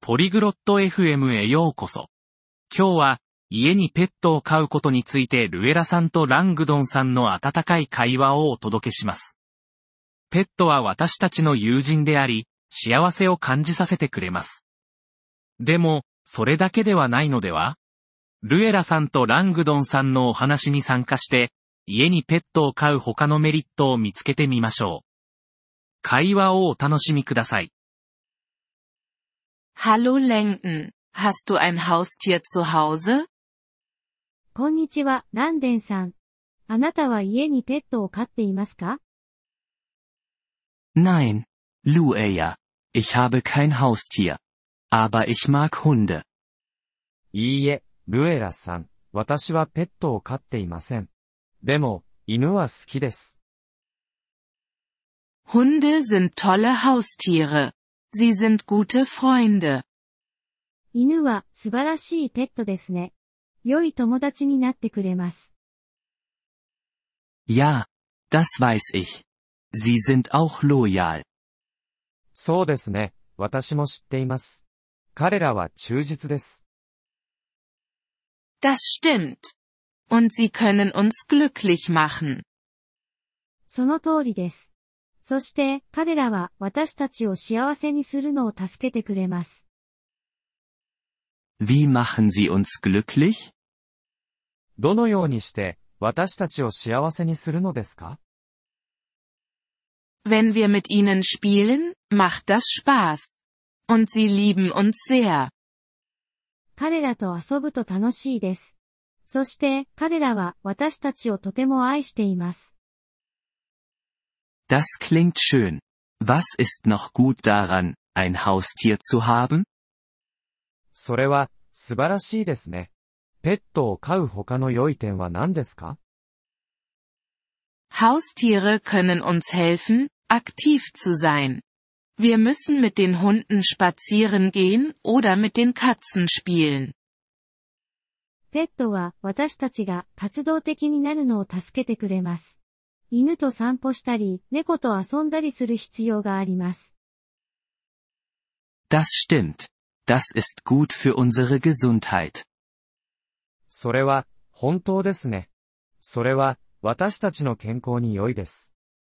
ポリグロット FM へようこそ。今日は、家にペットを飼うことについてルエラさんとラングドンさんの温かい会話をお届けします。ペットは私たちの友人であり、幸せを感じさせてくれます。でも、それだけではないのでは？ルエラさんとラングドンさんのお話に参加して、家にペットを飼う他のメリットを見つけてみましょう。会話をお楽しみください。 Hallo Langdon, hast du ein Haustier zu Hause? こんにちは、ランデンさん。あなたは家にペットを飼っていますか？ Nein, Lueja, ich habe kein Haustier. Aber ich mag Hunde. いいえ、ルエラさん、私はペットを飼っていません。でも、犬は好きです。 Hunde sind tolle Haustiere. Sie sind gute Freunde. 犬は素晴らしいペットですね。良い友達になってくれます。 Ja, das weiß ich. Sie sind auch loyal. そうですね、私も知っています。彼らは忠実です。 Das stimmt. Und sie können uns glücklich machen. その通りです。そして彼らは私たちを幸せにするのを助けてくれます。 Wie machen sie uns glücklich? どのようにして私たちを幸せにするのですか？ Wenn wir mit ihnen spielen, macht das Spaß. Und sie lieben uns sehr. 彼らと遊ぶと楽しいです。そして彼らは私たちをとても愛しています。 Das klingt schön. Was ist noch gut daran, ein Haustier zu haben? それは素晴らしいですね。ペットを飼う他の良い点は何ですか？ Haustiere können uns helfen, aktiv zu sein. Wir müssen mit den Hunden spazieren gehen oder mit den Katzen spielen. ペットは私たちが活動的になるのを助けてくれます。犬と散歩したり、猫と遊んだりする必要があります。 Das stimmt. Das ist gut für unsere Gesundheit. それは本当ですね。それは私たちの健康に良いです。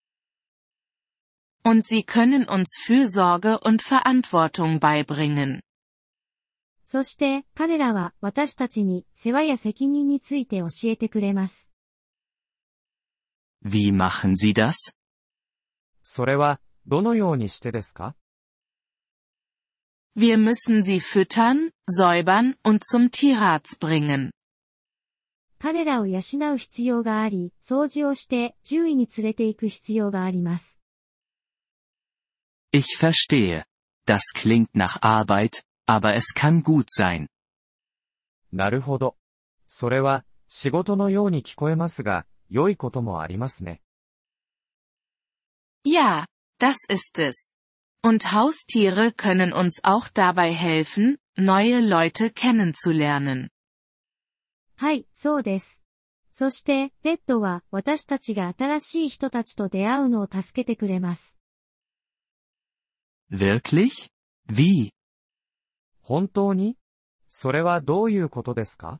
Und sie können uns Fürsorge und Verantwortung beibringen. そして彼らは私たちに世話や責任について教えてくれます。 Wie machen sie das? それはどのようにしてですか？ Wir müssen sie füttern, säubern und zum Tierarzt bringen. 彼らを養う必要があり、掃除をして獣医に連れて行く必要があります。 Ich verstehe. Das klingt nach Arbeit, aber es kann gut sein. なるほど。それは仕事のように聞こえますが、良いこともありますね。 Ja, das ist es. Und Haustiere können uns auch dabei helfen, neue Leute kennenzulernen. はい、そうです。そして、ペットは私たちが新しい人たちと出会うのを助けてくれます。 Wirklich? Wie? 本当に？それはどういうことですか？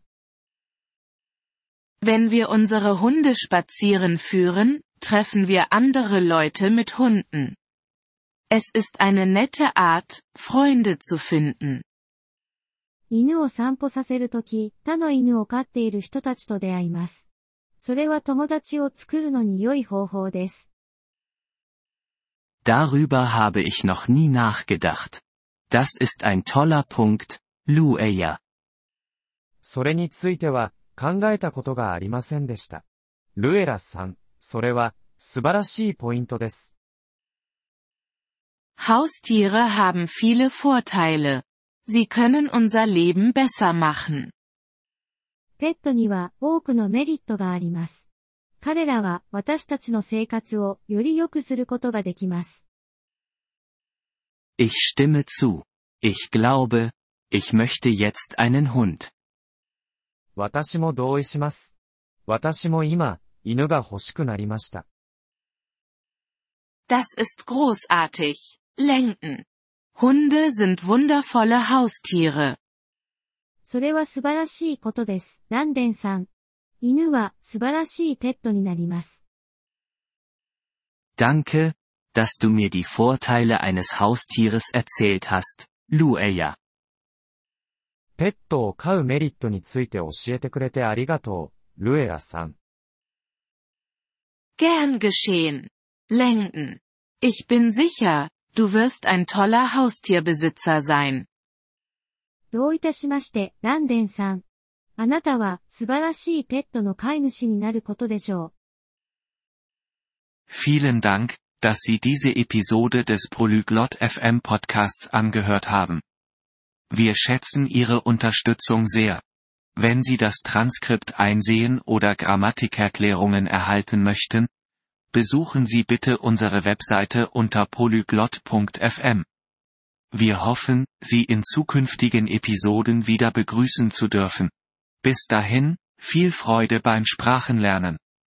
Wenn wir unsere Hunde spazieren führen, treffen wir andere Leute mit Hunden. Es ist eine nette Art, Freunde zu finden. 犬を散歩させるとき、他の犬を飼っている人たちと出会います。それは友達を作るのに良い方法です。 Darüber habe ich noch nie nachgedacht. Das ist ein toller Punkt, Lueja. それについては考えたことがありませんでした。ルエラさん、それは素晴らしいポイントです。 Haustiere haben viele Vorteile. Sie können unser Leben besser machen. ペットには多くのメリットがあります。彼らは私たちの生活をより良くすることができます。 Ich stimme zu. Ich glaube, ich möchte jetzt einen Hund. 私も同意します。私も今、犬が欲しくなりました。 Das ist großartig, Langdon. Hunde sind wundervolle Haustiere. それは素晴らしいことです。ランデンさん。犬は素晴らしいペットになります。 Danke, dass du mir die Vorteile eines Haustieres erzählt hast, Lueya. ペットを飼うメリットについて教えてくれてありがとう、ルエラさん。 Gern geschehen. Langdon. Ich bin sicher, du wirst ein toller Haustierbesitzer sein. どういたしまして、ランデンさん。あなたは素晴らしいペットの飼い主になることでしょう。Vielen Dank, dass Sie diese Episode des Polyglot FM Podcasts angehört haben. Wir schätzen Ihre Unterstützung sehr. Wenn Sie das Transkript einsehen oder Grammatikerklärungen erhalten möchten, besuchen Sie bitte unsere Webseite unter polyglot.fm. Wir hoffen, Sie in zukünftigen Episoden wieder begrüßen zu dürfen. Bis dahin, viel Freude beim Sprachenlernen.